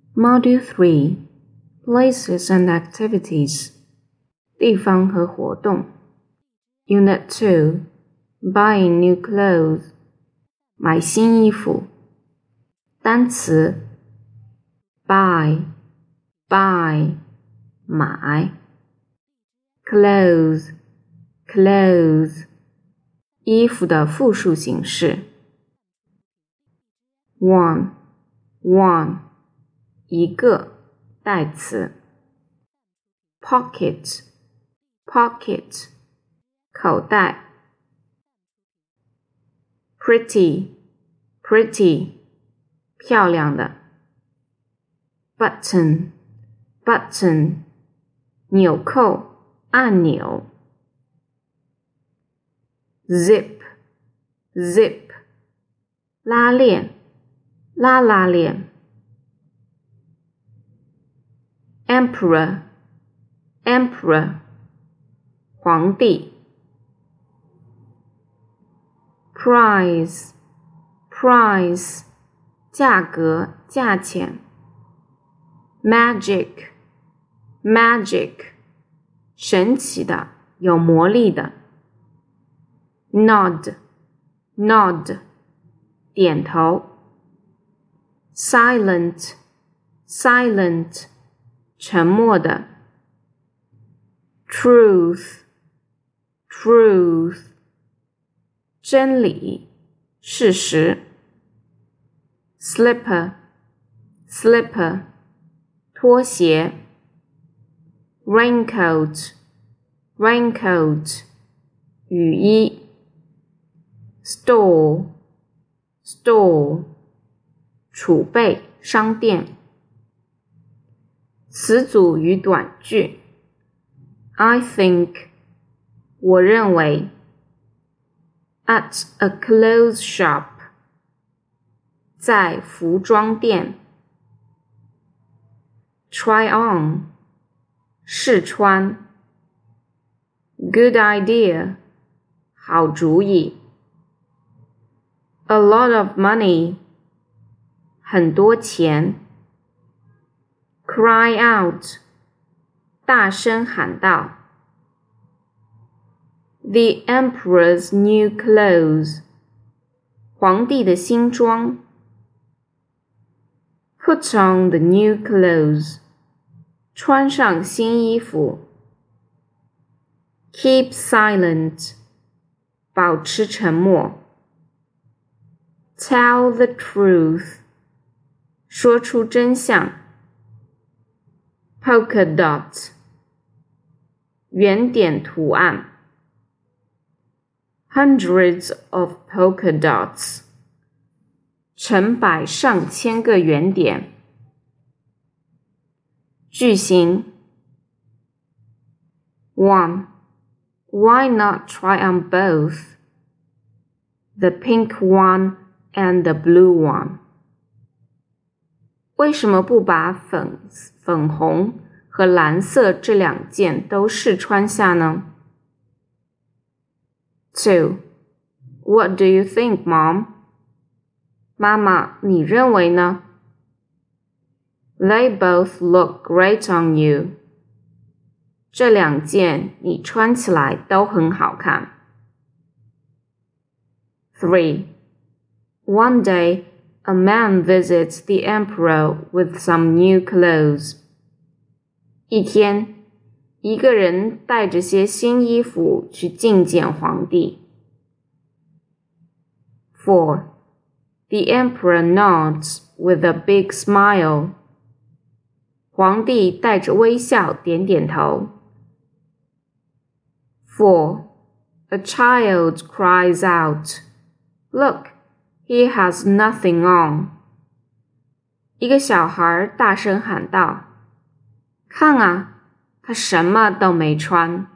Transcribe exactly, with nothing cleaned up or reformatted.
Module three Places and Activities 地方和活动 Unit two Buying new clothes 买新衣服单词 buy buy 买 clothes clothes 衣服的复数形式 one one 一个代词 pocket pocket 口袋 pretty pretty 漂亮的 button button 纽扣按钮 zip zip 拉链拉拉链 emperor emperor 皇帝 price price 价格价钱 magic magic 神奇的有魔力的 nod nod 点头 silent silent 沉默的 truth truth 真理事实 slipper slipper 拖鞋 raincoat raincoat 雨衣 store store 储备商店词组与短句 I think 我认为 at a clothes shop 在服装店 try on 试穿 good idea 好主意 a lot of money 很多钱 cry out 大声喊道 the emperor's new clothes 皇帝的新装 put on the new clothes 穿上新衣服 keep silent 保持沉默 tell the truth 说出真相 polka dot 圆点图案 hundreds of polka dots 成百上千个圆点句型 one Why not try on both the pink one and the blue one 为什么不把粉粉红和蓝色这两件都试穿下呢 two What do you think, Mom? 妈妈，你认为呢 They both look great on you. 这两件你穿起来都很好看。three. One day, a man visits the emperor with some new clothes. 一天，一个人带着些新衣服去觐见皇帝。four. The emperor nods with a big smile. 皇帝带着微笑点点头。four. A child cries out, Look, he has nothing on. 一个小孩大声喊道，看啊，他什么都没穿。